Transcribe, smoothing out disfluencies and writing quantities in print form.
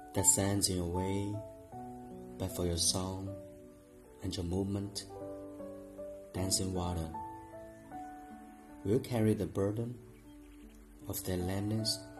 that sends you away, but for your song and your movement, dancing water will carry the burden of their lameness